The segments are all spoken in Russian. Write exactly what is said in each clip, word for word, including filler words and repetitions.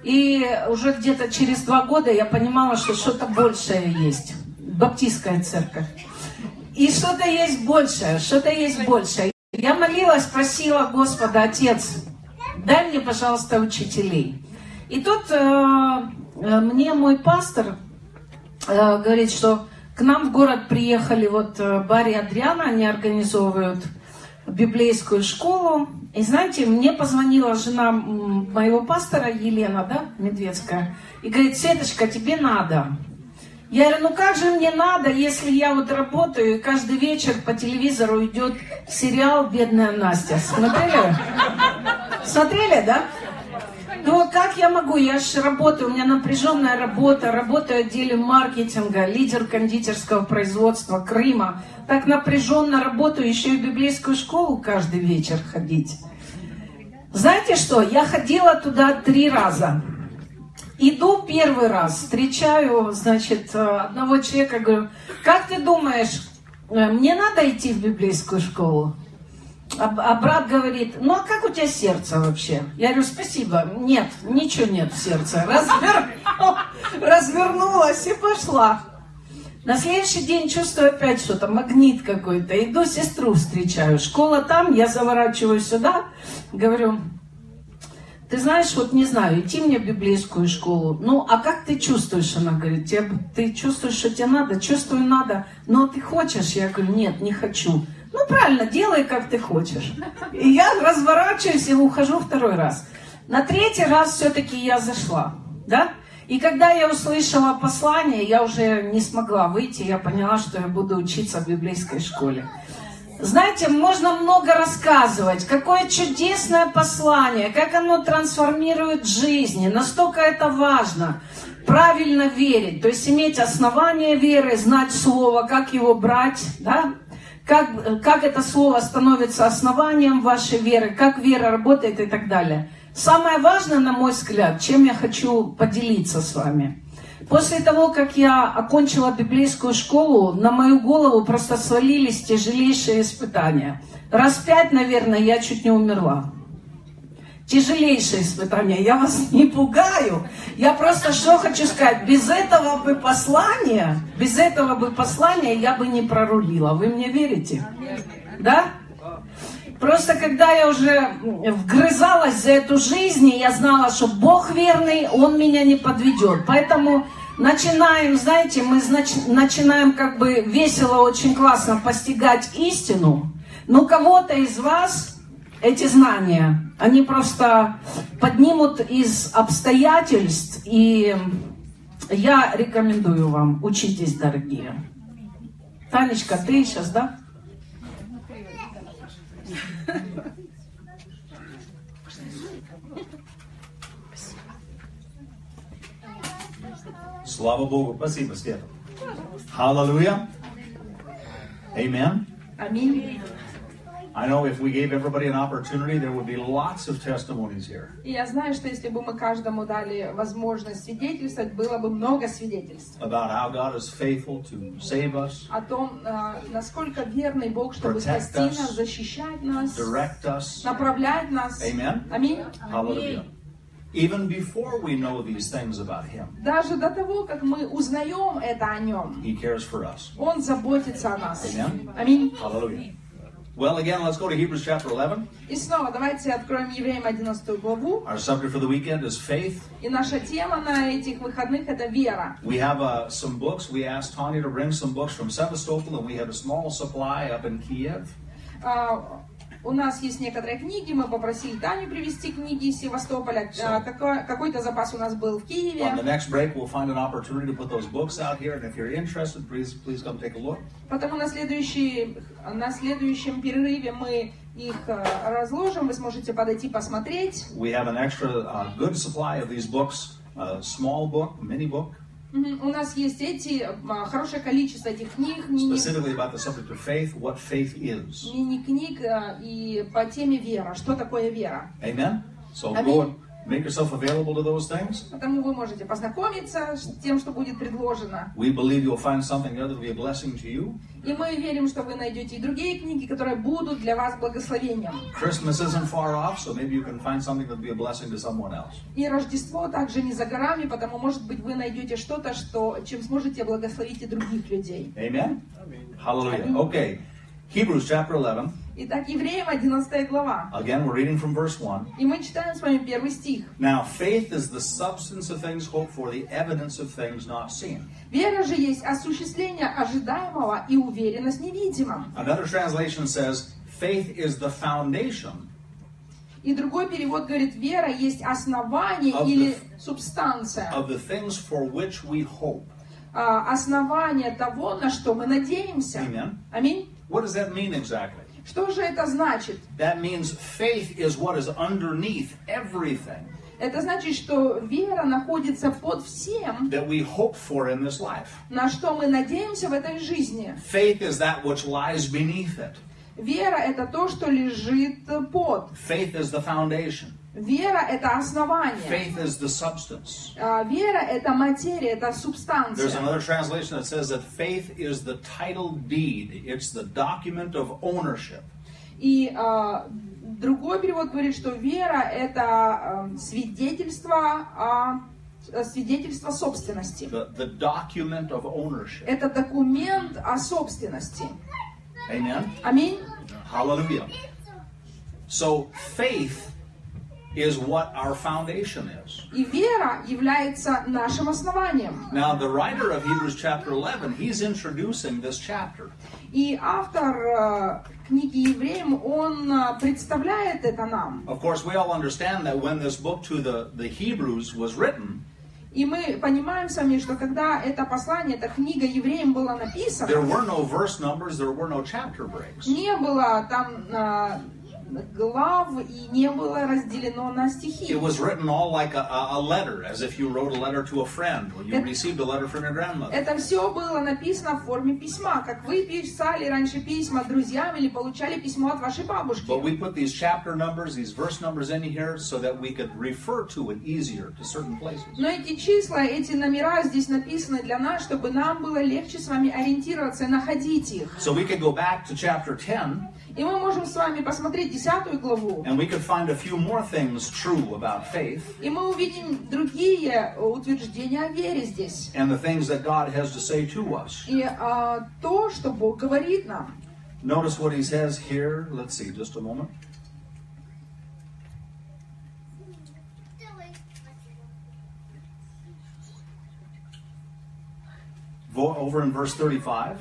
И уже где-то через два года я понимала, что что-то большее есть. Баптистская церковь. И что-то есть большее, что-то есть большее. Я молилась, просила Господа: Отец, дай мне, пожалуйста, учителей. И тут э, мне мой пастор э, говорит, что к нам в город приехали вот Барри и Адриана, они организовывают библейскую школу. И знаете, мне позвонила жена моего пастора, Елена, да, Медведская, и говорит: Светочка, тебе надо. Я говорю: ну как же мне надо, если я вот работаю, и каждый вечер по телевизору идет сериал «Бедная Настя». Смотрели? Смотрели, да? Ну как я могу? Я же работаю, у меня напряженная работа, работаю в отделе маркетинга, лидер кондитерского производства Крыма. Так напряженно работаю, еще и в библейскую школу каждый вечер ходить. Знаете что? Я ходила туда три раза. Иду первый раз, встречаю, значит, одного человека, говорю: как ты думаешь, мне надо идти в библейскую школу? А, а брат говорит: ну а как у тебя сердце вообще? Я говорю: спасибо, нет, ничего нет в сердце. Развер... Развернулась и пошла. На следующий день чувствую опять что-то, магнит какой-то. Иду, сестру встречаю. Школа там, я заворачиваю сюда, говорю: ты знаешь, вот не знаю, идти мне в библейскую школу. Ну, а как ты чувствуешь? Она говорит: тебе, ты чувствуешь, что тебе надо? Чувствую, надо. Но ты хочешь? Я говорю: нет, не хочу. Ну, правильно, делай, как ты хочешь. И я разворачиваюсь и ухожу второй раз. На третий раз все-таки я зашла, да? И когда я услышала послание, я уже не смогла выйти, я поняла, что я буду учиться в библейской школе. Знаете, можно много рассказывать, какое чудесное послание, как оно трансформирует жизни, настолько это важно. Правильно верить, то есть иметь основание веры, знать слово, как его брать, да? Как, как это слово становится основанием вашей веры, как вера работает и так далее. Самое важное, на мой взгляд, чем я хочу поделиться с вами. После того, как я окончила библейскую школу, на мою голову просто свалились тяжелейшие испытания. Раз пять, наверное, я чуть не умерла. Тяжелейшие испытания. Я вас не пугаю. Я просто что хочу сказать. Без этого бы послания, без этого бы послания я бы не прорулила. Вы мне верите? Да? Просто когда я уже вгрызалась за эту жизнь, я знала, что Бог верный, Он меня не подведет. Поэтому начинаем, знаете, мы знач- начинаем как бы весело, очень классно постигать истину. Но кого-то из вас эти знания, они просто поднимут из обстоятельств. И я рекомендую вам, учитесь, дорогие. Танечка, ты сейчас, да? Слава Богу. Спасибо, Света. Hallelujah. Amen. Аминь. I know if we gave everybody an opportunity, there would be lots of testimonies here. И я знаю, что если бы мы каждому дали возможность свидетельствовать, было бы много свидетельств. About how God is faithful to save us, о том, насколько верный Бог, чтобы спасти нас, защищать нас, direct us, направлять нас. Amen. Аминь. Hallelujah. Even before we know these things about Him, даже до того, как мы узнаем это о Нем, He cares for us. Он заботится о нас. Amen. Аминь. Hallelujah. Well, again, let's go to Hebrews chapter eleven. И снова давайте откроем Евреям одиннадцатую главу. Our subject for the weekend is faith. И наша тема на этих выходных — это вера. We have uh, some books. We asked Tanya to bring some books from Sevastopol, and we have a small supply up in Kiev. Uh, У нас есть некоторые книги, мы попросили Таню привезти книги из Севастополя. So, Какой, какой-то запас у нас был в Киеве. On the next break, we'll find an opportunity to put those books out here, and if you're interested, please, please come take a look. Потому на, следующий, на следующем перерыве мы их разложим, вы сможете подойти посмотреть. We have an extra uh, good supply of these books, a small book, mini book. У нас есть эти, хорошее количество этих книг, Specifically about the subject of faith, what faith is. мини-книг и по теме вера. Что такое вера? Amen. So go and, Make yourself available to those things. Потому вы можете познакомиться с тем, что будет предложено. We believe you'll find something there that will be a blessing to you. И мы верим, что вы найдете и другие книги, которые будут для вас благословением. Christmas isn't far off, so maybe you can find something that will be a blessing to someone else. И Рождество также не за горами, потому, может быть, вы найдете что-то, что, чем сможете благословить и других людей. Amen? Hallelujah. Okay. Hebrews chapter eleven. Итак, Евреям одиннадцатая глава. Again, we're reading from verse one. И мы читаем с вами первый стих. Now, faith is the substance of things hoped for, the evidence of things not seen. Вера же есть осуществление ожидаемого и уверенность в невидимом. Another translation says, faith is the foundation И другой перевод говорит, вера есть основание Of или the- субстанция. of the things for which we hope. А, основание того, на что мы надеемся. Amen. Аминь. What does that mean exactly? Что же это значит? That means faith is what is underneath everything Это значит, что вера находится под всем, that we hope for in this life. на что мы надеемся в этой жизни. Faith is that which lies beneath it. Вера — это то, что лежит под. Faith is the foundation. Вера — это основание. Faith is the substance. А, Вера — это материя, это There's субстанция. another translation that says that faith is the title deed. It's the document of ownership. И а, другой перевод говорит, что вера — это а, свидетельство, а, свидетельство собственности. The, the document of ownership. Это документ о собственности. Amen? Аминь. Hallelujah. So faith is what our foundation is. И вера является нашим основанием. Now, the writer of Hebrews chapter eleven, he's introducing this chapter. И автор э, книги Евреям, он э, представляет это нам. Of course, we all understand that when this book to the, the Hebrews was written, И мы понимаем с вами, что когда это послание, эта книга Евреям была there написана, were no verse numbers, there were no chapter breaks. не было там э, глав и не было разделено на стихи. It was written all like a, a, a letter, as if you wrote a letter to a friend, or you received a letter from your grandmother. Это все было написано в форме письма, как вы писали раньше письма друзьям или получали письмо от вашей бабушки. But we put these chapter numbers, these verse numbers in here so that we could refer to it easier to certain places. Но эти числа, эти номера здесь написаны для нас, чтобы нам было легче с вами ориентироваться и находить их. So we could go back to chapter ten, И мы можем с вами посмотреть десятую главу, and we could find a few more things true about faith и мы увидим другие утверждения о вере здесь. and the things that God has to say to us. И а, то, что Бог говорит нам. Notice what he says here. Let's see, just a moment. Vo- Over in verse thirty-five,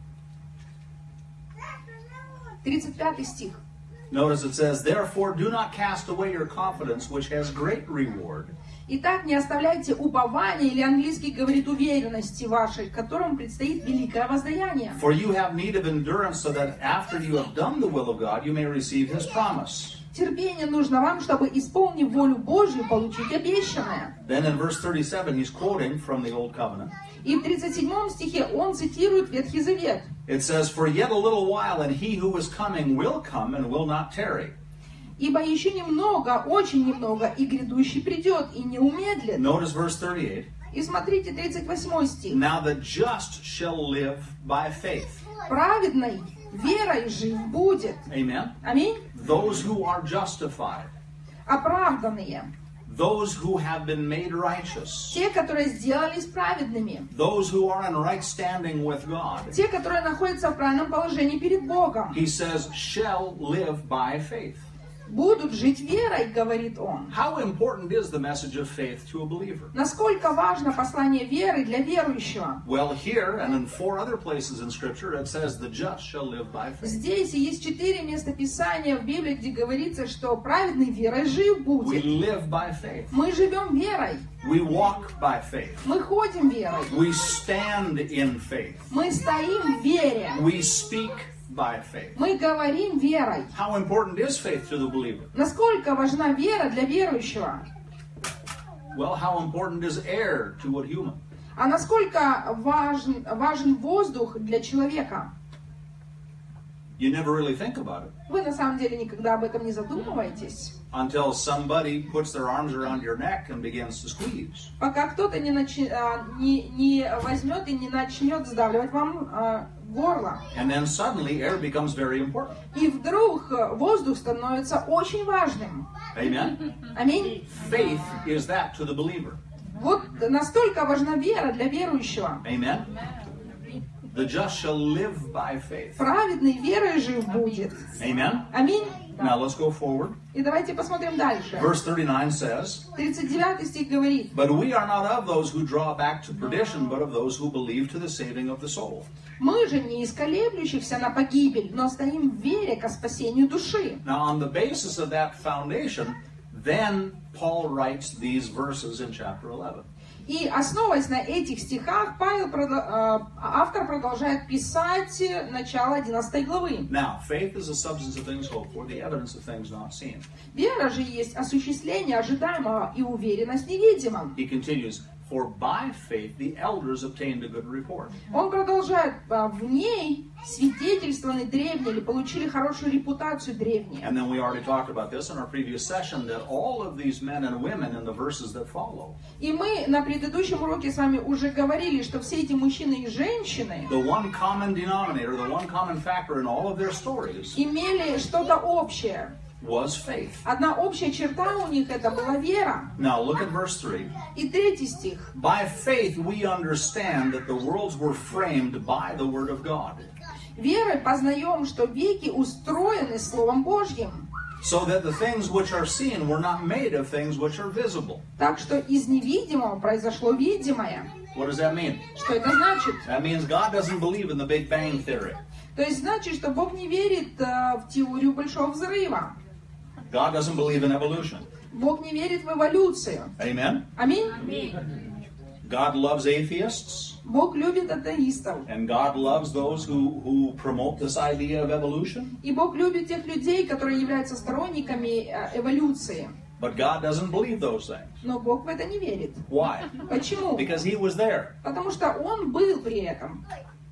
тридцать пятый стих. notice it says, "Therefore do not cast away your confidence, which has great reward." Итак, не оставляйте упования, или английский говорит уверенности вашей, которому предстоит великое воздаяние. For you have need of endurance, so that after you have done the will of God, you may receive his promise. Терпение нужно вам, чтобы, исполнив волю Божью, получить обещанное. Then in verse thirty-seven, he's quoting from the Old Covenant. И в тридцать седьмом стихе он цитирует Ветхий Завет. It says, "For yet a little while, and he who is coming will come and will not tarry." Ибо еще немного, очень немного, и грядущий придет, и не умедлит. Notice verse thirty-eight. И смотрите, тридцать восьмой стих. Now the just shall live by faith. Праведный верой жив будет. Amen. Аминь. Those who are justified, Оправданные. those who have been made righteous, Те, которые сделались праведными. those who are in right standing with God, Те, которые находятся в правильном положении перед Богом. he says, shall live by faith. Будут жить верой, говорит он. How important is the message of faith to a believer? Насколько важно послание веры для верующего? Well, here and in four other places in Scripture, it says, the just shall live by faith. Здесь и есть четыре местописания в Библии, где говорится, что праведный верой жив We будет. live by faith. Мы живем верой. We walk by faith. Мы ходим верой. We stand in faith. Мы стоим в вере. We speak by faith. Мы говорим верой. How important is faith to the believer? Насколько важна вера для верующего? Well, how important is air to a human? А насколько важен, важен воздух для человека? You never really think about it. Вы на самом деле никогда об этом не задумываетесь. until somebody puts their arms around your neck and begins to squeeze. Пока кто-то не, начи- а, не, не возьмет и не начнет сдавливать вам а, горло. And then suddenly air becomes very important. И вдруг э, воздух становится очень важным. Amen? Аминь. Faith is that to the believer. Вот настолько важна вера для верующего. Amen? The just shall live by faith. Праведный верой жив будет. Amen? Аминь. Now let's go forward. И давайте посмотрим дальше. Verse thirty-nine says, тридцать девятый стих говорит: But we are not of those who draw back to perdition, but of those who believe to the saving of the soul. Мы же не из колеблющихся на погибель, но стоим в вере ко спасению души. Now on the basis of that foundation, then Paul writes these verses in chapter eleven. И основываясь на этих стихах, Павел, продо- э, автор продолжает писать начало одиннадцатой главы. Now, faith is the substance of things hoped for, the evidence of things not seen. Вера же есть осуществление ожидаемого и уверенность в невидимом. He continues, For by faith the elders obtained a good report. Он продолжает: в ней свидетельствованы древние или получили хорошую репутацию древние. And then we already talked about this in our previous session, that all of these men and women in the verses that follow, И мы на предыдущем уроке с вами уже говорили, что все эти мужчины и женщины the one common denominator, the one common factor in all of their stories имели что-то общее. was faith. Одна общая черта у них — это была вера. Now look at verse three. И третий стих. By faith we understand that the worlds were framed by the word of God, Верой познаем, что веки устроены Словом Божьим, so that the things which are seen were not made of things which are visible. так что из невидимого произошло видимое. What does that mean? Что это значит? That means God doesn't believe in the Big Bang Theory. То есть значит, что Бог не верит э, в теорию Большого Взрыва. God doesn't believe in evolution. Бог не верит в эволюцию. Amen? Аминь. God loves atheists, Бог любит атеистов. and God loves those who, who promote this idea of evolution. И Бог любит тех людей, которые являются сторонниками э, эволюции. But God doesn't believe those things. Но Бог в это не верит. Why? Почему? Because He was there. Потому что Он был при этом.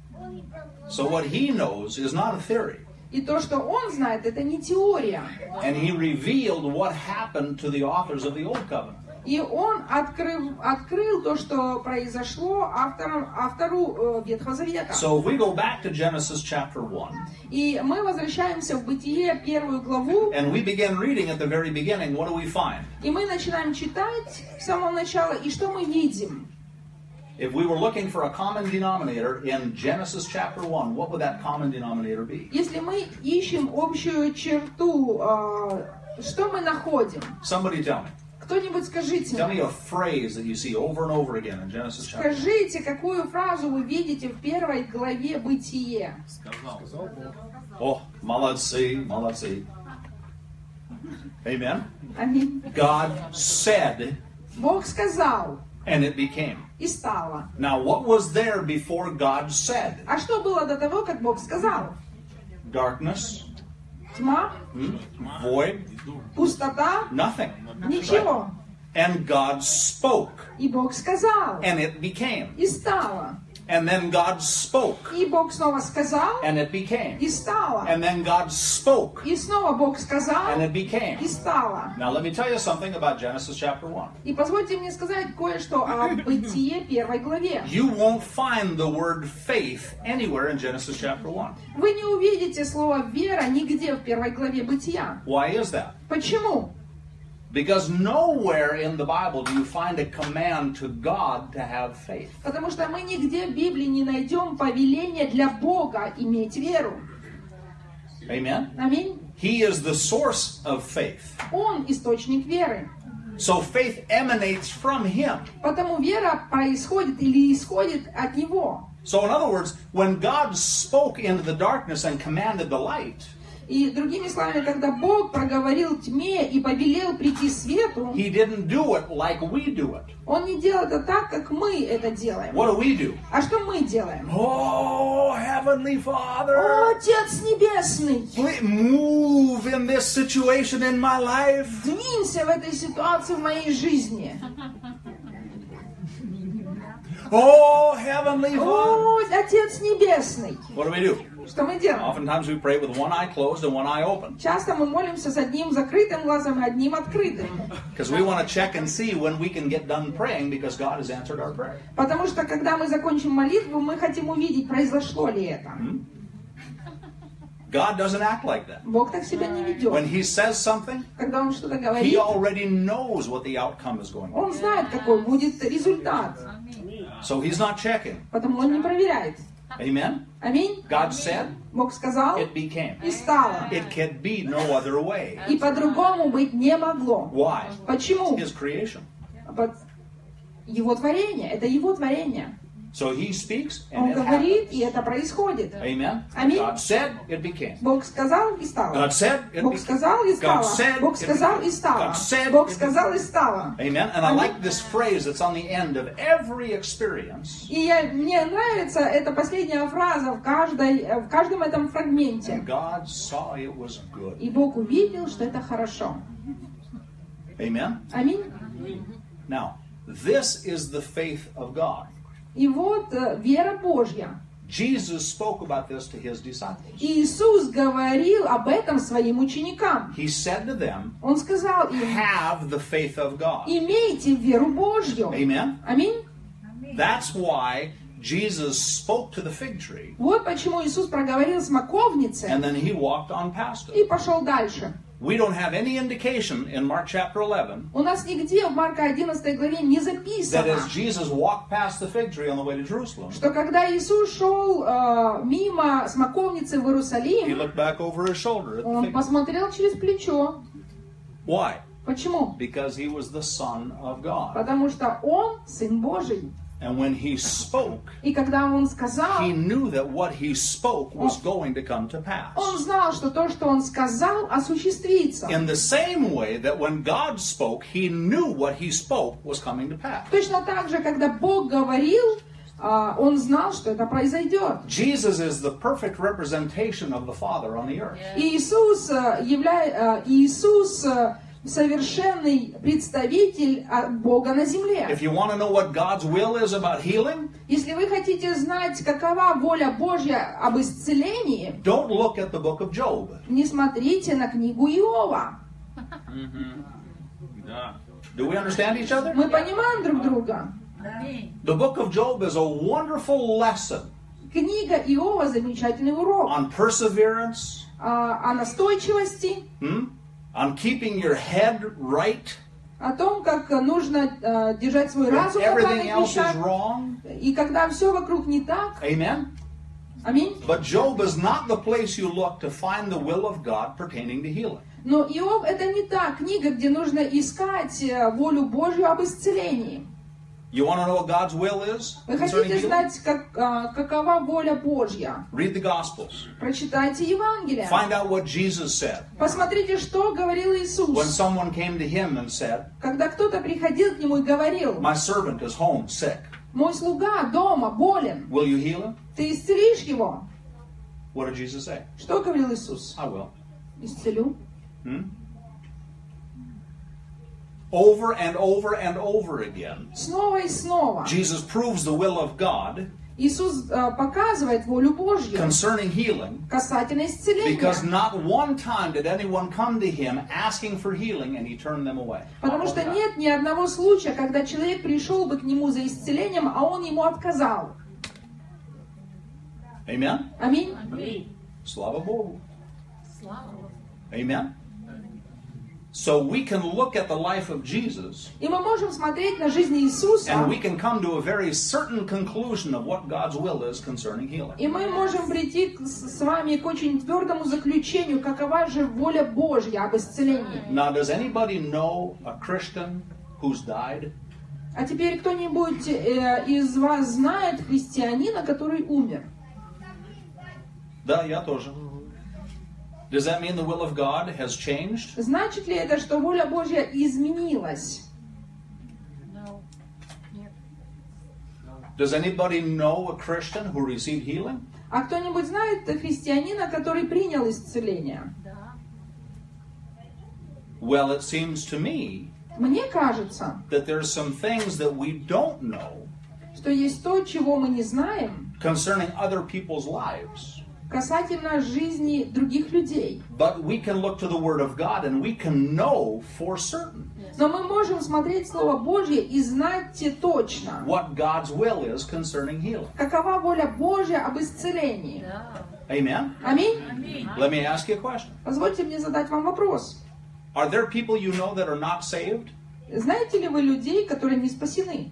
So what He knows is not a theory. И то, что Он знает, это не теория. And He revealed what happened to the authors of the Old Covenant. И Он открыл, открыл то, что произошло авторам, автору э, Ветхого Завета. So if we go back to Genesis chapter one, И мы возвращаемся в Бытие, первую главу, and we begin reading at the very beginning, what do we find? и мы начинаем читать с самого начала, и что мы видим? If we were looking for a common denominator in Genesis chapter one, what would that common denominator be? Если мы ищем общую черту, э, что мы находим? Somebody tell me. Кто-нибудь скажите Tell мне. me a phrase that you see over and over again in Genesis chapter one. Скажите, какую фразу вы видите в первой главе Бытие? Oh, молодцы, молодцы. Amen. Аминь. God said, Бог сказал, and it became. и стало. Now, what was there before God said? А что было до того, как Бог сказал? Darkness, Тьма, hmm? void, пустота, nothing. ничего. And God spoke, И Бог сказал, and it became. и стало. And then God spoke, И Бог снова сказал, and it became. и стало. And then God spoke, И снова Бог сказал, and it became. и стало. Now, let me tell you something about Genesis chapter one. И позвольте мне сказать кое-что о Бытие первой главе. You won't find the word faith anywhere in Genesis chapter one. Вы не увидите слово «вера» нигде в первой главе Бытия. Why is that? Почему? Because nowhere in the Bible do you find a command to God to have faith. Потому что мы нигде в Библии не найдем повеления для Бога иметь веру. Amen? Аминь. He is the source of faith. Он источник веры. So faith emanates from Him. Потому вера происходит или исходит от Него. So in other words, when God spoke into the darkness and commanded the light, И другими словами, когда Бог проговорил тьме и повелел прийти свету, He didn't do it like we do it. Он не делал это так, как мы это делаем. What do we do? А что мы делаем? Oh, Heavenly О, Father, Отец Небесный, please move in this situation in my life. двинься в этой ситуации в моей жизни. Oh, Heavenly Father. О, Отец Небесный, What do we do? Что мы делаем? Oftentimes we pray with one eye closed and one eye open. Часто мы молимся с одним закрытым глазом и одним открытым. Because we want to check and see when we can get done praying because God has answered our prayer. Потому что, когда мы закончим молитву, мы хотим увидеть, произошло ли это. God doesn't act like that. Бог так себя не ведет. When He says something, Когда Он что-то He говорит, already knows what the outcome is going to be. Он знает, какой будет результат. So He's not checking. Потому Он не проверяет. Amen? Аминь. God said, Бог сказал, it became. и стало. It can be no other way. И по-другому быть не могло. Why? Почему? His creation. Под Его творение. Это Его творение. So He speaks and Он it говорит, и happens. это происходит. Amen? Аминь. God said, it became. Бог сказал, и стало. God said, it Бог became. сказал, и God стало. said, Бог it сказал, became. и стало. God said, Бог it сказал, и стало. Amen? And I like this phrase that's on the end of every experience. И я, мне нравится эта последняя фраза в, каждой, в каждом этом фрагменте. And God saw it was good. И Бог увидел, что это хорошо. Amen? Аминь. Now, this is the faith of God. И вот э, вера Божья. Jesus spoke about this to His disciples. И Иисус говорил об этом своим ученикам. He said to them, Он сказал им, have the faith of God. имейте веру Божью. Amen? Аминь. That's why Jesus spoke to the fig tree Вот почему Иисус проговорил смоковнице and then He walked on past и it. пошел дальше. We don't have any indication in Mark chapter eleven У нас нигде в Марка одиннадцатой главе не that записано, as Jesus walked past the fig tree on the way to Jerusalem, что когда Иисус шел э, мимо смоковницы в He Иерусалим, looked back over His shoulder at the он fig tree. посмотрел через плечо. Why? Почему? Because He was the Son of God. Потому что Он Сын Божий. And when He spoke, И когда Он сказал, He knew that what He spoke was going to come to pass. Он знал, что то, что Он сказал, осуществится. In the same way that when God spoke, He knew what He spoke was coming to pass. Точно так же, когда Бог говорил, а, Он знал, что это произойдет. Jesus is the perfect representation of the Father on the earth. И Иисус, э, явля... э, Иисус э, совершенный представитель а, Бога на земле. If you want to know what God's will is about healing, Если вы хотите знать, какова воля Божья об исцелении, don't look at the book of Job. не смотрите на книгу Иова. Do we understand each other? Мы понимаем друг друга. The book of Job is a wonderful lesson Книга Иова замечательный урок on perseverance, а, о настойчивости, hmm? on keeping your head right. о том, как нужно а, держать свой When разум на everything правильных else is вещах. wrong. И когда все вокруг не так, Amen? аминь. But Job is not the place you look to find the will of God pertaining to healing. Но Иов это не та книга, где нужно искать э, волю Божью об исцелении. You want to know what God's will is Вы concerning хотите healing? знать, как, а, какова воля Божья? Read the Gospels. Прочитайте Евангелие. Find out what Jesus said. Посмотрите, что говорил When Иисус. someone came to Him and said, Когда кто-то приходил к Нему и говорил, my servant is home sick. мой слуга дома болен, Will you heal him? ты исцелишь его? What did Jesus say? Что говорил Иисус? I will. Исцелю. Hmm? Over and over and over again, Снова и снова. Jesus proves the will of God Иисус а, показывает волю Божью concerning healing, касательно исцеления. because not one time did anyone come to Him asking for healing and He turned them away. Потому что нет ни одного случая, когда человек пришел бы к Нему за исцелением, а Он ему отказал. Amen? Аминь. Slava Bogu. Amen? So we can look at the life of Jesus И мы можем смотреть на жизнь Иисуса, and we can come to a very certain conclusion of what God's will is concerning healing. и мы можем прийти к- с вами к очень твердому заключению, какова же воля Божья об исцелении. Now, does anybody know a Christian who's died? А теперь кто-нибудь э, из вас знает христианина, который умер? Да, я тоже. Does that mean the will of God has changed? Значит ли это, что воля Божья изменилась? Does anybody know a Christian who received healing? А кто-нибудь знает христианина, который принял исцеление? Well, it seems to me Мне кажется, that there's some things that we don't know что есть то, чего мы не знаем, concerning other people's lives касательно жизни других людей. But we can look to the Word of God and we can know for certain Но мы можем смотреть Слово Божье и знать точно, what God's will is concerning healing. какова воля Божья об исцелении. Amen? Аминь. Let me ask you a question. Позвольте мне задать вам вопрос. Are there people you know that are not saved? Знаете ли вы людей, которые не спасены?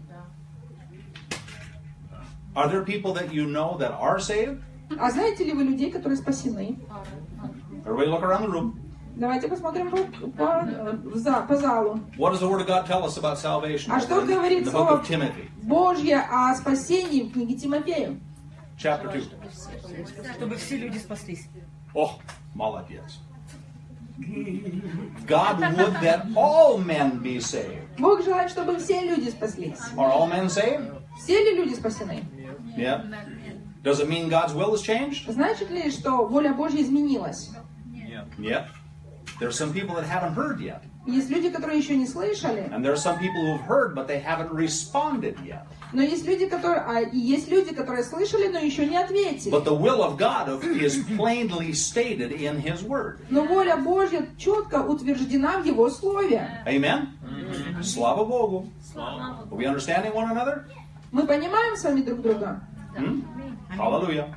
Are there people that you know that are saved? А знаете ли вы людей, которые спасены? Everybody look around the room. Давайте посмотрим по, по, за- по залу. What does the Word of God tell us about salvation? А что In the, in говорит the book Слово of Timothy, Божье о спасении в книге Тимофею? chapter two. Чтобы все люди спаслись. Oh, молодец. God would that all men be saved. Бог желает, чтобы все люди спаслись. Are all men saved? Все ли люди спасены? Yeah. Does it mean God's will has changed? Значит ли, что воля Божья изменилась? Yet. There's some people that haven't heard yet. Есть люди, которые еще не слышали, And there are some people who have heard, but they haven't responded yet. но есть люди, которые, а, и есть люди, которые слышали, но еще не ответили. But the will of God is plainly stated in His Word. Но воля Божья четко утверждена в Его Слове. Amen? Slava Bogu. Are we understanding one another? Мы понимаем с вами друг друга? Hmm? Hallelujah.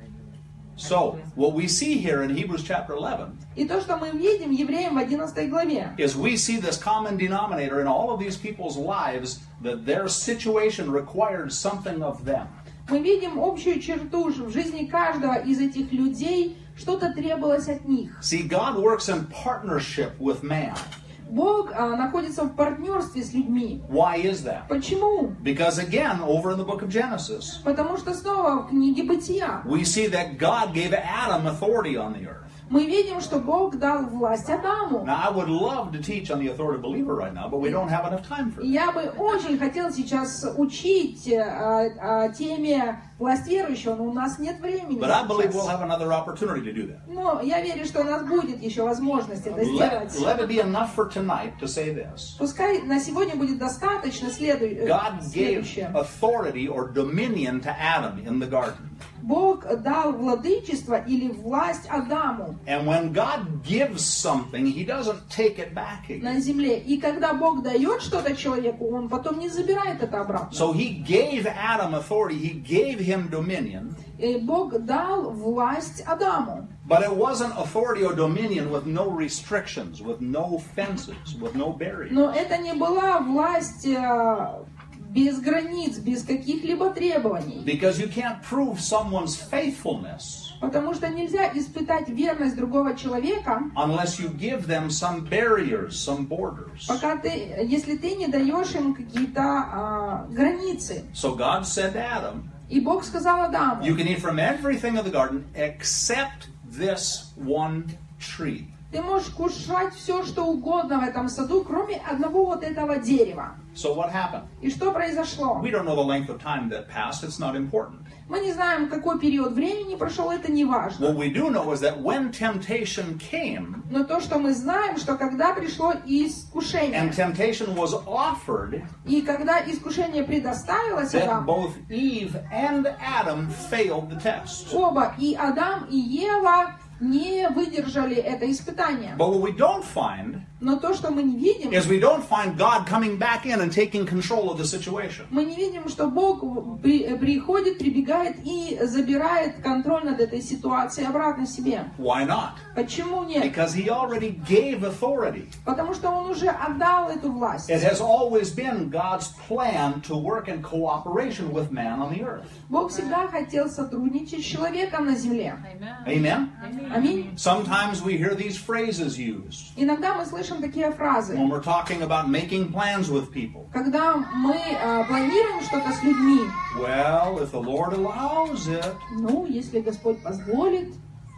So, what we see here in Hebrews chapter eleven И то, что мы видим Евреям в одиннадцатой главе, is we see this common denominator in all of these people's lives, that their situation required something of them. мы видим общую черту в жизни каждого из этих людей, что-то требовалось от них. See, God works in partnership with man. Бог а, находится в партнерстве с людьми. Why is that? Почему? Because again, over in the book of Genesis, Потому что снова в книге Бытия we see that God gave Adam authority on the earth. мы видим, что Бог дал власть Адаму. Now, I would love to teach on the authority of believer right now, but we don't have enough time for И it. я бы очень хотела сейчас учить о, о теме власть верующего, но у нас нет времени But I believe we'll сейчас. have another opportunity to do that. Но я верю, что у нас будет еще возможность это Let, сделать. let it be enough for tonight to say this. Пускай на сегодня будет достаточно следуй- э, God gave следующее. authority or dominion to Adam in the garden. Бог дал владычество или власть Адаму And when God gives something, He doesn't take it back на again. земле. И когда Бог дает что-то человеку, он потом не забирает это обратно. So He gave Adam authority, He gave him dominion, И Бог дал власть Адаму. but it wasn't authority or dominion with no restrictions, with no fences, with no barriers. Но это не была власть э, без границ, без каких-либо требований. Because you can't prove someone's faithfulness Потому что нельзя испытать верность другого человека, unless you give them some barriers, some borders. пока ты, если ты не даешь им какие-то а, границы. So God said to Adam, И Бог сказал Адаму: you can eat from everything of the garden except this one tree. ты можешь кушать все, что угодно в этом саду, кроме одного вот этого дерева. So what happened? И что произошло? We don't know the length of time that passed. It's not important. Мы не знаем, какой период времени прошел, это не важно. What we do know is that when temptation came, Но то, что мы знаем, что когда пришло and искушение, temptation was offered, и когда искушение предоставилось that Адаму, both Eve and Adam failed the test. оба, и Адам, и Ева, не выдержали это испытание. But what we don't find Но то, что мы не видим, is we don't find God coming back in and taking control of the situation. мы не видим, что Бог при- приходит, прибегает и забирает контроль над этой ситуацией обратно себе. Why not? Почему нет? Because He already gave authority. Потому что Он уже отдал эту власть. It has always been God's plan to work in cooperation with man on the earth. Бог всегда хотел сотрудничать с человеком на земле. Amen? Аминь. Sometimes we hear these phrases used Иногда мы слышим такие фразы, when we're talking about making plans with people. когда мы э, планируем что-то с людьми. Well, if the Lord allows it, Ну, если Господь позволит,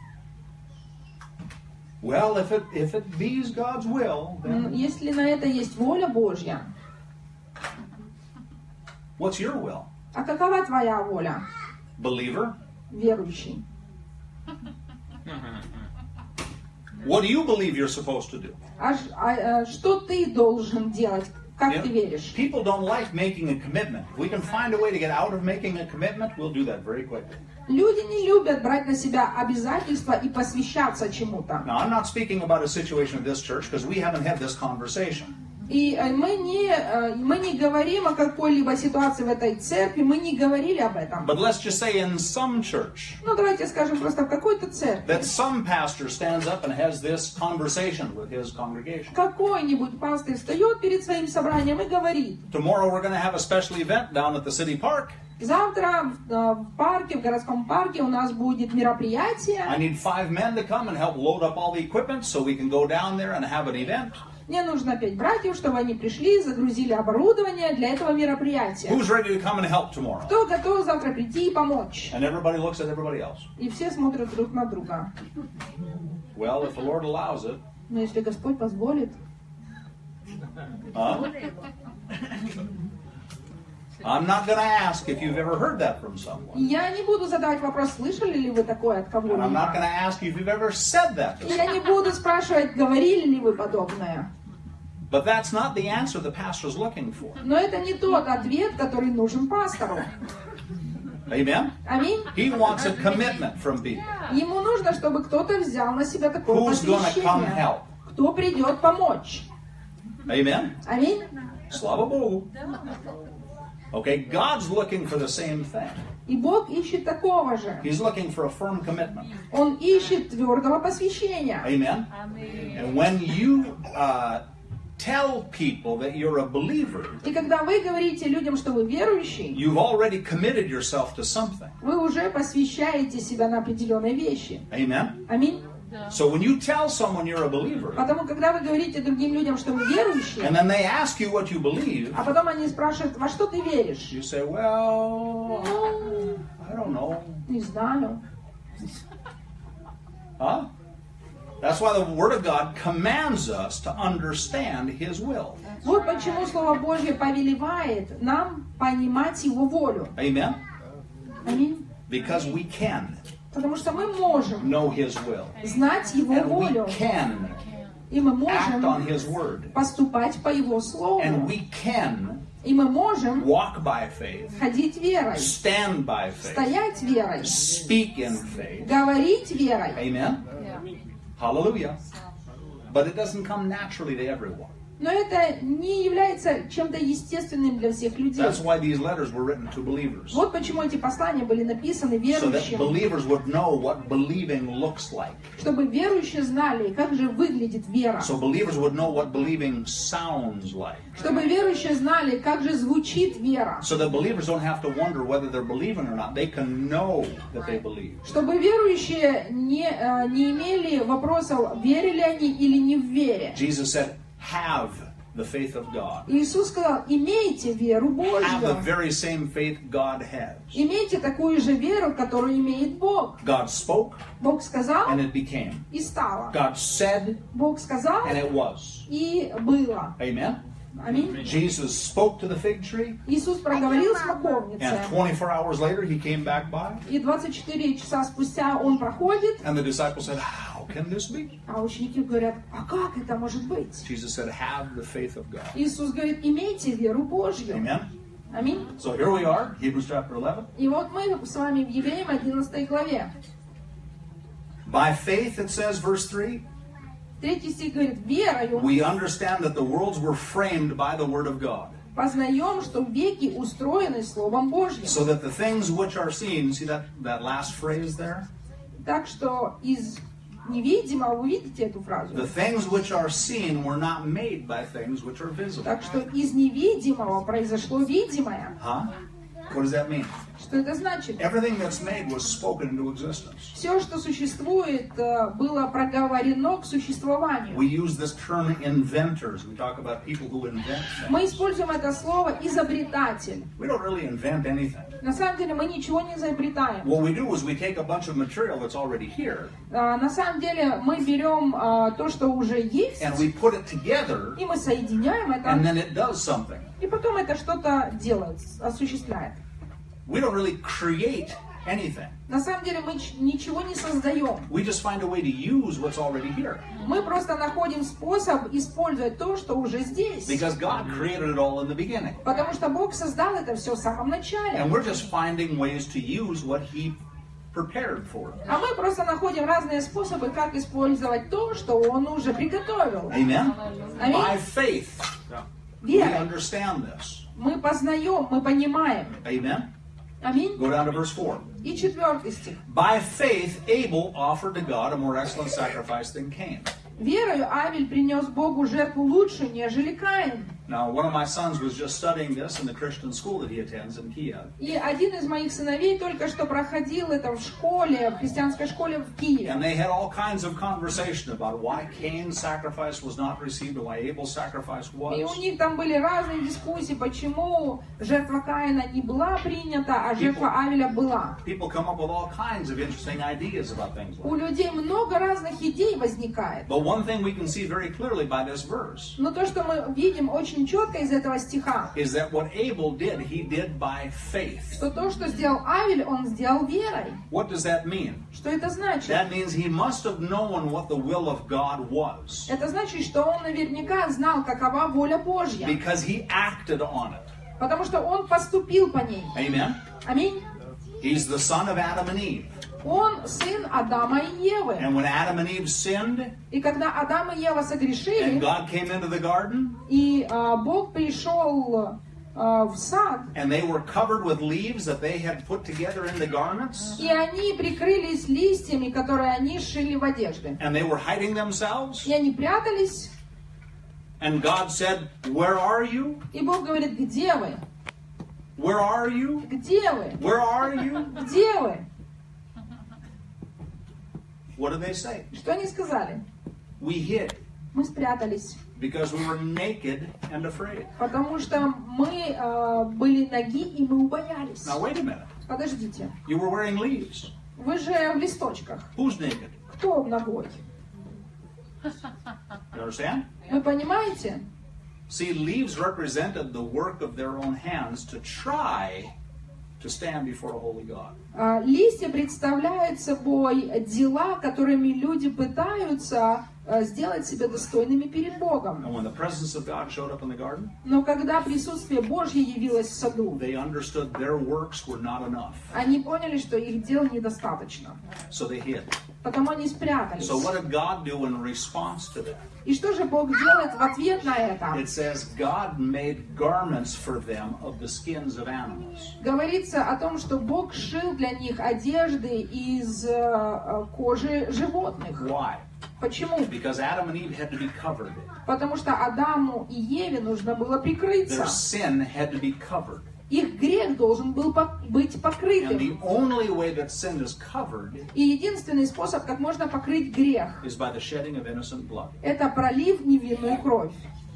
well, if it if it be's God's will, м, then если на это есть воля Божья, what's your will? а какова твоя воля, Believer? верующий? What do you believe you're supposed to do? А, ш- а, э, что ты должен делать? Как You ты know, веришь? people don't like making a commitment. If we can find a way to get out of making a commitment, we'll do that very quickly. Люди не любят брать на себя обязательства и посвящаться чему-то. Now, I'm not speaking about a situation of this church because we haven't had this conversation. И э, мы не, э, мы не говорим о какой-либо ситуации в этой церкви, мы не говорили об этом. But let's just say in some church Ну, давайте скажем просто в какой-то церкви. that some pastor stands up and has this conversation with his congregation. Какой-нибудь пастырь встает перед своим собранием и говорит: Tomorrow we're going to have a special event down at the city park. завтра в, э, в парке, в городском парке у нас будет мероприятие. I need five men to come and help load up all the equipment so we can go down there and have an event. Мне нужно пять братьев, чтобы они пришли, загрузили оборудование для этого мероприятия. Who's ready to come and help tomorrow? Кто готов завтра прийти и помочь? And everybody looks at everybody else. И все смотрят друг на друга. Well, if the Lord allows it, Но если Господь позволит, huh? I'm not going to ask if you've ever heard that from someone. я не буду задавать вопрос, слышали ли вы такое от And I'm not going кого-либо. to ask you if you've ever said that to И someone. я не буду спрашивать, говорили ли вы подобное. But that's not the answer the pastor's looking for. Но это не тот ответ, который нужен пастору. Amen? Аминь. He wants a commitment from people. Ему нужно, чтобы кто-то взял на себя такое Who's gonna come посвящение. help? Кто придет помочь. Amen? Аминь. Slava Bogu. Okay, God's looking for the same thing. И Бог ищет такого же. He's looking for a firm commitment. Он ищет твердого посвящения. Amen? And when you uh, tell people that you're a believer, И когда вы говорите людям, что вы верующий, you've already committed yourself to something. вы уже посвящаете себя на определенные вещи. Amen? Аминь. So when you tell someone you're a believer, Потому когда вы говорите другим людям, что вы верующие, and then they ask you what you believe, а потом они спрашивают, во что ты веришь? you say, well, I don't know. Не знаю. Huh? That's why the Word of God commands us to understand His will. Вот почему Слово Божье повелевает нам понимать Его волю. Amen? Аминь. Because we can Потому что мы можем know His will. знать Его And волю, we can и мы act on можем His Word. поступать по Его Слову, And we can и мы можем walk by faith, ходить верой, stand by faith, стоять верой, speak in faith. говорить верой. Amen? Hallelujah. But it doesn't come naturally to everyone. Но это не является чем-то естественным для всех людей. That's why these letters were written to believers. Вот почему эти послания были написаны So that верующим, believers would know what believing looks like. чтобы верующие знали, как же выглядит вера. So believers would know what believing sounds like. Чтобы верующие знали, как же звучит вера. So that believers don't have to wonder whether they're believing or not. They can know that they believe. Чтобы верующие не, э, не имели вопросов, верили они или не в вере. Jesus said, have the faith of God. Иисус сказал, имейте веру Have the Божью. very same faith God has. Имейте такую же веру, которую имеет Бог. God spoke Бог сказал, and it became. и стало. God said Бог сказал, and it was. и было. Amen? Аминь. Jesus spoke to the fig tree Иисус проговорил смоковнице, and twenty-four hours later he came back by и двадцать четыре часа спустя он проходит, and the disciples said, how can this be? а ученики говорят, а как это может быть? Jesus said, have the faith of God. Иисус говорит, имейте веру Божью. Amen? Аминь. So here we are, Hebrews chapter eleven. И вот мы с вами в Евреям одиннадцатой главе. By faith, it says, verse three, Третий стих говорит, верою we understand that the worlds were framed by the word of God, познаем, что веки устроены Словом Божьим. so that the things which are seen, see that, that last phrase there? Так что из невидимого, вы видите эту фразу? The things which are seen were not made by things which are visible. Так что из невидимого произошло видимое. Huh? What does that mean? Что это значит? Everything that's made was spoken into existence. Все, что существует, э, было проговорено к существованию. We use this term inventors. We talk about people who invent Мы things. используем это слово «изобретатель». We don't really invent anything. На самом деле мы ничего не изобретаем. What we do is we take a bunch of material that's already here А, На самом деле мы берем а, то, что уже есть, and we put it together и мы соединяем and это, then it does something. и потом это что-то делает, осуществляет. We don't really create anything. На самом деле мы ч- ничего не создаем. We just find a way to use what's already here. Мы просто находим способ использовать то, что уже здесь. Because God created it all in the beginning. Потому что Бог создал это все в самом начале. And we're just finding ways to use what He prepared for us. А мы просто находим разные способы, как использовать то, что Он уже приготовил. Amen? Аминь. By faith, we Верой. understand this. Мы познаем, мы понимаем. Amen? Аминь. Go down to verse four. И четвертый стих. By faith, Abel offered to God a more excellent sacrifice than Cain. Верою Авель принес Богу жертву лучшую, нежели Каин. Now, one of my sons was just studying this in the Christian school that he attends in Kiev. И один из моих сыновей только что проходил это в школе, в христианской школе в Киеве. And they had all kinds of conversation about why Cain's sacrifice was not received and why Abel's sacrifice И у was. них там были разные дискуссии, почему жертва Каина не была принята, а жертва Авеля была. People come up with all kinds of interesting ideas about things У like that. людей много разных идей возникает. But one thing we can see very clearly by this verse Но то, что мы видим очень четко из этого стиха, is that what Abel did, he did by faith. что то, что сделал Авель, он сделал верой. What does that mean? Что это значит? That means he must have known what the will of God was Это значит, что он наверняка знал, какова воля Божья, because he acted on it. потому что он поступил по ней. Amen? Аминь. He's the son of Adam and Eve. Он сын Адама и Евы. And when Adam and Eve sinned И когда Адам и Ева and согрешили, God came into the garden и а, Бог пришел а, в сад, and they were covered with leaves that they had put together into garments и они прикрылись листьями, которые они сшили в одежды. and they were hiding themselves, И они прятались, and God said, "Where are you? и Бог говорит: где вы? Where are you? Где вы? Where are you?" Где вы? What did they say? Что они сказали? We hid Мы спрятались, because we were naked and afraid. потому что мы а, были ноги, и мы убоялись. Now wait a minute. Подождите, You were wearing leaves. вы же в листочках. Who's naked? Кто ногой? You understand? Вы понимаете? See, leaves represented the work of their own hands to try to stand before a holy God. А, Листья представляют собой дела, которыми люди пытаются а, сделать себя достойными перед Богом. And when the presence of God showed up in the garden, Но когда присутствие Божье явилось в саду, they understood their works were not enough. они поняли, что их дел недостаточно. So they hid. Потому они спрятались. So what did God do in response to that? И что же Бог делает в ответ на это? It says God made garments for them of the skins of animals. Говорится о том, что Бог сшил для них одежды из э, кожи животных. Why? Почему? Because Adam and Eve had to be covered. Потому что Адаму и Еве нужно было прикрыться. Their sin had to be covered. Их грех должен был пок- быть And покрытым. the only way that sin is covered И единственный способ, как можно покрыть грех, is by the shedding of innocent blood. это пролив невинную кровь.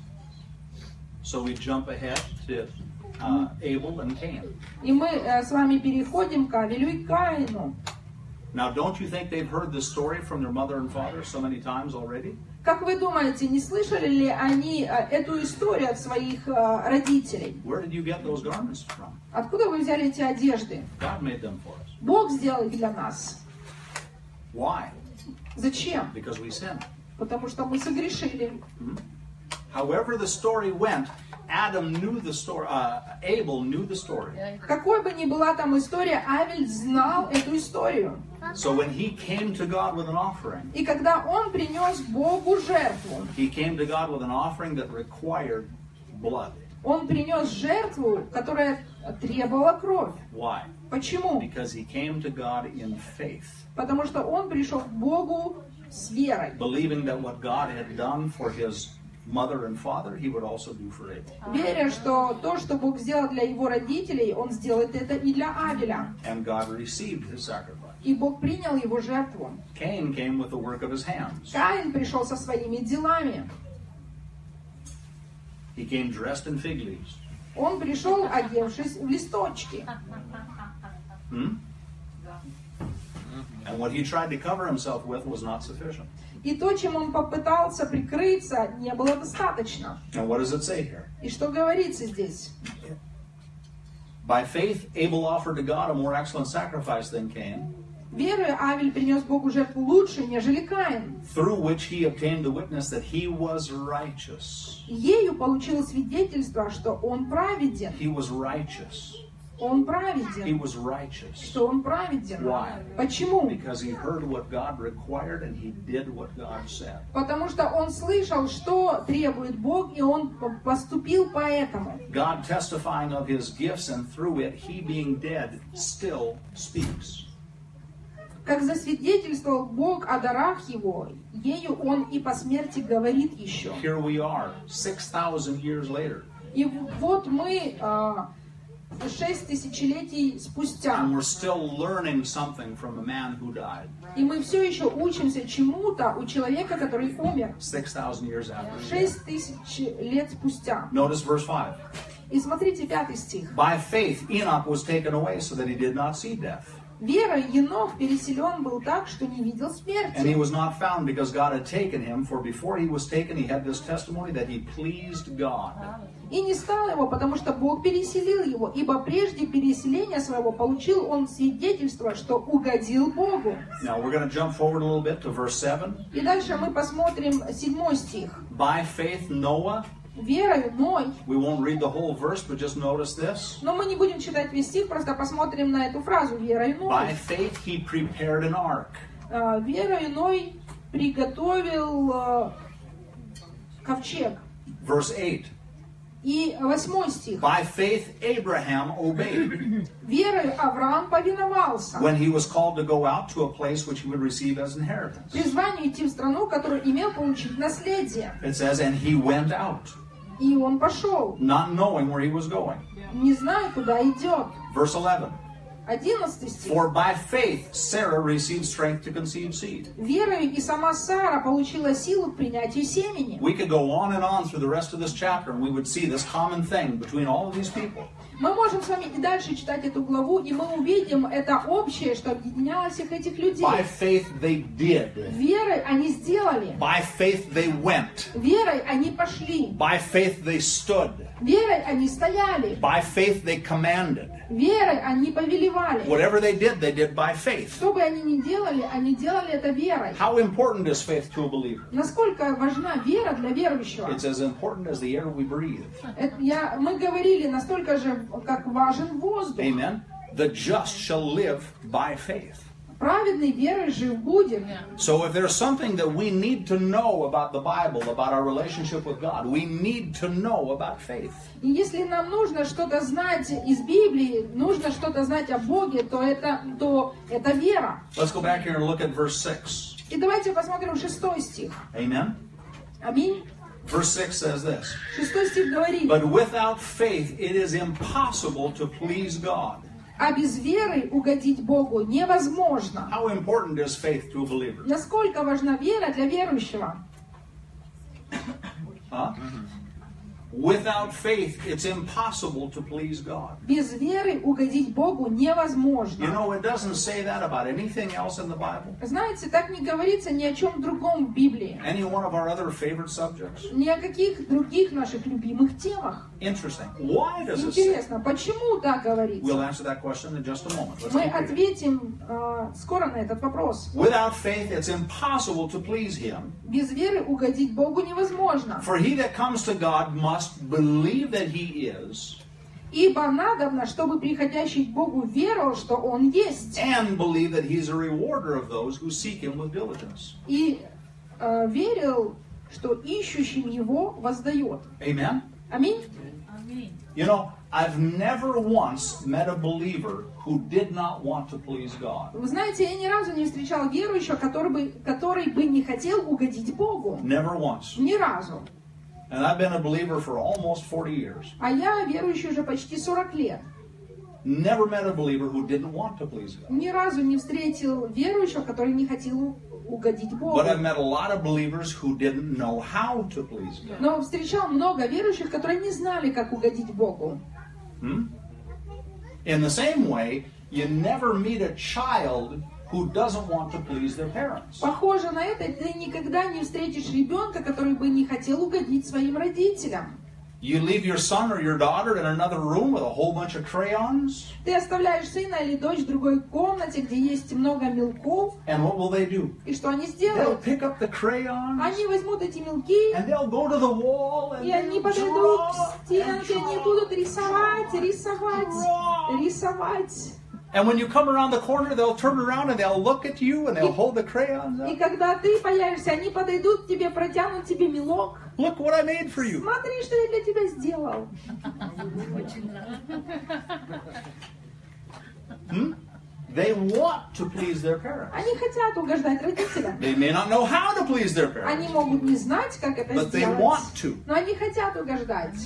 So we jump ahead to uh, Abel and Cain. И мы э, с вами переходим к Авелю и Каину. Now, don't you think they've heard this story from their mother and father so many times already? Как вы думаете, не слышали ли они э, эту историю от своих э, родителей? Where did you get those garments from? Откуда вы взяли эти одежды? God made them for us. Бог сделал их для нас. Why? Зачем? Because we sinned. Потому что мы согрешили. However the story went, Adam knew the story. Uh, Abel knew the story. Какой бы ни была там история, Авель знал эту историю. So when he came to God with an offering, И когда он принес Богу жертву, he came to God with an offering that required blood. он принес жертву, которая требовала кровь. Why? Почему? Because he came to God in faith, Потому что он пришел к Богу с верой, believing that what God had done for his mother and father, he would also do for Abel. веря, что то, что Бог сделал для его родителей, он сделает это и для Авеля. And God received his sacrifice. И Бог принял его жертву. Cain came with the work of his hands. Каин пришел со своими делами. He came dressed in fig leaves. Он пришел, одевшись в листочки. Hmm? And what he tried to cover himself with was not sufficient. И то, чем он попытался прикрыться, не было достаточно. And what does it say here? И что говорится здесь? By faith, Abel offered to God a more excellent sacrifice than Cain, Верою Авель принес Богу жертву лучше, нежели Каин. through which he obtained the witness that he was righteous. Ею получил свидетельство, что он праведен. He was righteous. Он He праведен. was righteous. Что он праведен. Why? Почему? Because he heard what God required and he did what God said. Потому что он слышал, что требует Бог, и он поступил поэтому. God testifying of his gifts, and through it, he being dead, still speaks. Как засвидетельствовал Бог о дарах его, ею он и по смерти говорит еще. Here we are, six thousand years later, И вот мы а, шесть тысячелетий спустя, and we're still learning something from a man who died и мы все еще учимся чему-то у человека, который умер six thousand years after. шесть тысяч лет спустя. Notice verse five. И смотрите пятый стих. By faith, Enoch was taken away so that he did not see death. Верой Енох переселен был так, что не видел And he смерти. was not found because God had taken him, for before he was taken, he had this testimony that he pleased God. И не стал его, потому что Бог переселил его, ибо прежде переселения своего получил он свидетельство, что угодил Богу. Now we're going to jump forward a little bit to verse seven. И дальше мы посмотрим седьмой стих. By faith, Noah, Верою Ной. we won't read the whole verse, but just notice this. Но мы не будем читать весь стих, просто посмотрим на эту фразу. Верою By Ной. faith, he prepared an ark. А, Верою Ной приготовил а, ковчег. Verse eight. И восьмой стих. By faith, Abraham obeyed Верою Авраам повиновался. when he was called to go out to a place which he would receive as inheritance. Призванию идти в страну, которую имел получить наследие. It says, and he went out, И он пошел, not knowing where he was going. не зная, куда идет. Verse eleven. Одиннадцатый стих. For by faith, Sarah received strength to conceive seed. Верою и сама Сара получила силу к принятию семени. We could go on and on through the rest of this chapter, and we would see this common thing between all of these people. Мы можем с вами и дальше читать эту главу, и мы увидим это общее, что объединяло всех этих людей. By faith, they did. Верой они сделали. By faith, they went. Верой они пошли. By faith, they stood. Верой они стояли. By faith, they commanded. Верой они повелевали. Whatever they did, they did by faith. Что бы они ни делали, они делали это верой. How important is faith to a believer? Насколько важна вера для верующего? It's as important as the air we breathe. Это я, мы говорили, настолько же, как важен воздух. Amen. The just shall live by faith. Праведный верой жив будет. So if there's something that we need to know about the Bible, about our relationship with God, we need to know about faith. И если нам нужно что-то знать из Библии, нужно что-то знать о Боге, то это, то это вера. Let's go back here and look at verse six. И давайте посмотрим шестой стих. Amen. Аминь. Verse six says this. Шестой стих говорит: But without faith it is impossible to please God. а без веры угодить Богу невозможно. How important is faith to a believer? Насколько важна вера для верующего? Huh? Without faith, it's impossible to please God. Без веры угодить Богу You невозможно. know, it doesn't say that about anything else in the Bible. Знаете, так не говорится ни о чем другом в Библии. Any one of our other favorite subjects. Ни о каких других наших любимых темах. Interesting. Why does it say? Интересно, почему так говорится? We'll answer that question in just a moment. Let's Мы keep reading. ответим э, скоро на этот вопрос. Without faith, it's impossible to please Him. Без веры угодить Богу невозможно. For he that comes to God must believe that He is, Ибо надобно, чтобы приходящий к Богу веровал, что Он есть. and believe that He's a rewarder of those who seek Him with diligence. И э, верил, что ищущим Его воздает. Amen? Аминь. You know, I've never once met a believer who did not want to please God. Вы знаете, я ни разу не встречал верующего, который бы, который бы не хотел угодить Богу. Never once. Ни разу. And I've been a believer for almost forty years. А я верующий уже почти сорок лет. Never met a believer who didn't want to please God. Ни разу не встретил верующего, который не хотел угодить Богу. But I've met a lot of believers who didn't know how to please God. Но встречал много верующих, которые не знали, как угодить Богу. Hmm? In the same way, you never meet a child who doesn't want to please their parents. Похоже на это, ты никогда не встретишь ребенка, который бы не хотел угодить своим родителям. You leave your son or your daughter in another room with a whole bunch of crayons, Ты оставляешь сына или дочь в другой комнате, где есть много мелков, and what will they do? и что они They'll сделают? pick up the crayons, Они возьмут эти мелки, and they'll go to the wall, and и они they'll подойдут draw, к стенке, and они draw, будут рисовать, рисовать, draw. рисовать. And when you come around the corner, they'll turn around and they'll look at you and they'll hold the crayons И up. когда ты появишься, они подойдут к тебе, протянут тебе мелок. Look what I made for you. Смотри, что я для тебя сделал. Hmm? They want to please their parents. Они хотят угождать родителям. They may not know how to please their Они parents, могут не знать, как это but they want сделать, to. но они хотят угождать.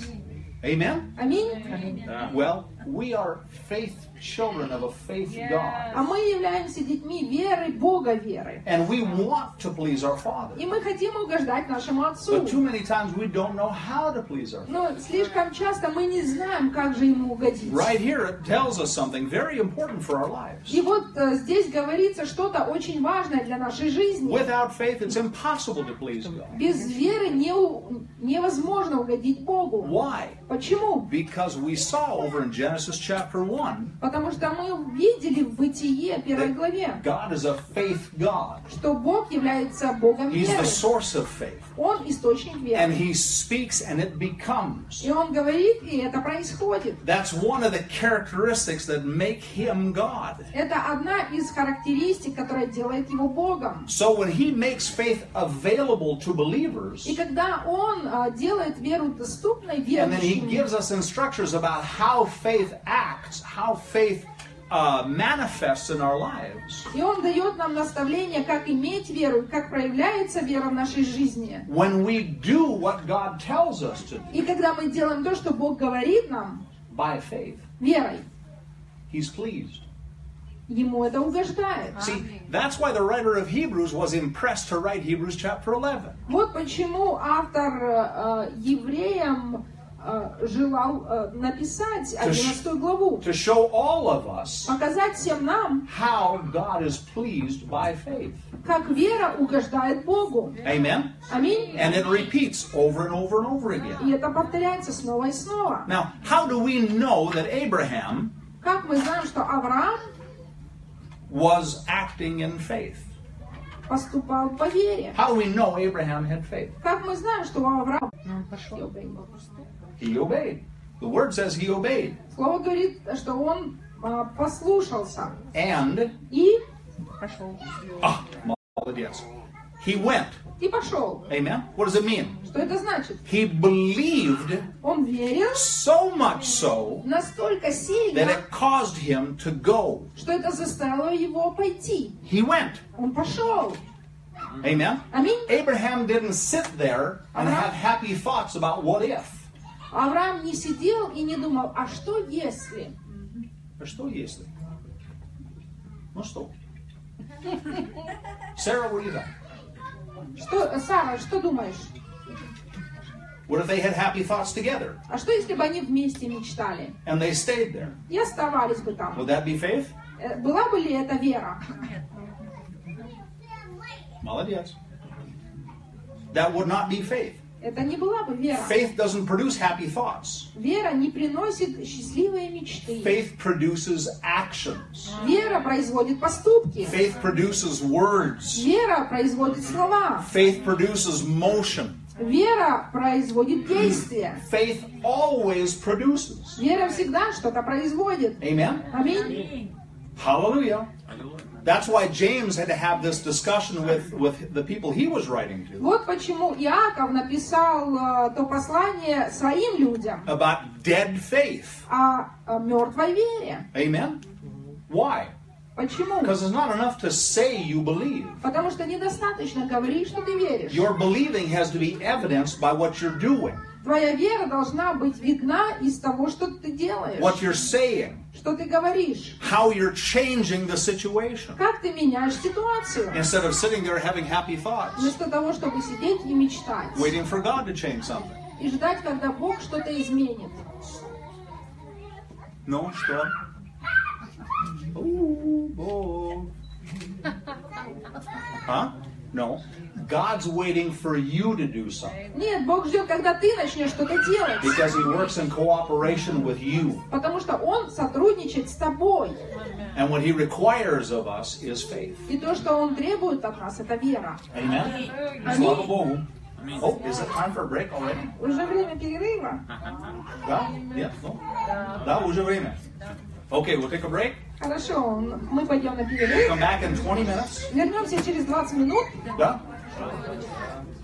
Amen? Аминь. Well, we are faith children of a faith God. А мы являемся детьми веры, Бога веры. And we want to please our Father. И мы хотим угождать нашему Отцу. But too many times we don't know how to please our Father. Но слишком часто мы не знаем, как же Ему угодить. Right here it tells us something very important for our lives. И вот э, здесь говорится что-то очень важное для нашей жизни. Without faith, it's impossible to please God. Без веры не, у- невозможно угодить Богу. Why? Почему? Because we saw over in Genesis chapter one Потому что мы видели в Бытие, первой главе, God is a faith God. что Бог является Богом He's the веры. source of faith. Он источник And веры. He speaks and it becomes. И Он говорит, и это происходит. That's one of the characteristics that make Him God. Это одна из характеристик, которая делает Его Богом. So when He makes faith available to believers, И когда Он а, делает веру доступной and then He верующим, gives us instructions about how faith acts, how faith uh, manifests in our lives. и Он дает нам наставление, как иметь веру, и как проявляется вера в нашей жизни. When we do what God tells us to do И когда мы делаем то, что Бог говорит нам, by faith, верой, He's pleased. Ему это угождает. See, that's why the writer of Hebrews was impressed to write Hebrews chapter eleven. Вот почему автор э, евреям э, желал э, написать одиннадцатую главу. To show all of us Показать всем нам, how God is pleased by faith. как вера угождает Богу. Amen? Аминь. And it repeats over and over and over again. И это повторяется снова и снова. Now, how do we know that Abraham Как мы знаем, что Авраам was acting in faith? поступал по вере? How do we know Abraham had faith? Как мы знаем, что Авраам... He obeyed. The word says he obeyed. Слово говорит, что он а, послушался. And, И, ah, молодец. He went. и пошел. Amen? What does it mean? Что это значит? He believed Он верил so much so настолько that сильно, it caused him to go. что это заставило его пойти. He went. Он пошел. Amen? Аминь. Abraham didn't sit there and have happy thoughts about what if. Авраам не сидел и не думал, а что если? А что если? Ну что? Sarah, what do you think? Что, Сара, что думаешь? What if they had happy thoughts together А что если бы они вместе мечтали and they stayed there? и оставались бы там? Would that be faith? Э, Была бы ли это вера? Молодец. That would not be faith. Это не была бы вера. Faith doesn't produce happy thoughts. Вера не приносит счастливые мечты. Faith produces actions. Вера производит поступки. Faith produces words. Вера производит слова. Faith produces motion. Вера производит действия. Faith always produces. Вера всегда что-то производит. Amen? Аминь. Hallelujah. That's why James had to have this discussion with, with the people he was writing to Вот почему Иаков написал э, то послание своим людям about dead faith. о, о мертвой вере. Amen? Why? Почему? Because it's not enough to say you believe. Потому что недостаточно говорить, что ты веришь. Your believing has to be evidenced by what you're doing, Твоя вера должна быть видна из того, что ты делаешь, what you're saying, что ты говоришь, how you're changing the situation. как ты меняешь ситуацию. Instead of sitting there having happy thoughts, Вместо того, чтобы сидеть и мечтать. waiting for God to change something. И ждать, когда Бог что-то изменит. Ну, что? О, Бог. Huh? No. God's waiting for you to do something. Нет, Бог ждет, когда ты начнешь что-то делать. Because He works in cooperation with you. Потому что Он сотрудничает с тобой. And what He requires of us is faith. И то, что Он требует от нас, это вера. Amen? Слава Богу. Oh, is it time for a break already? Уже время перерыва. Да? Нет? Ну? Да, уже время. Okay, we'll take a break. Хорошо, мы пойдем на перерыв. Come back in twenty minutes. Вернемся через двадцать минут. Да?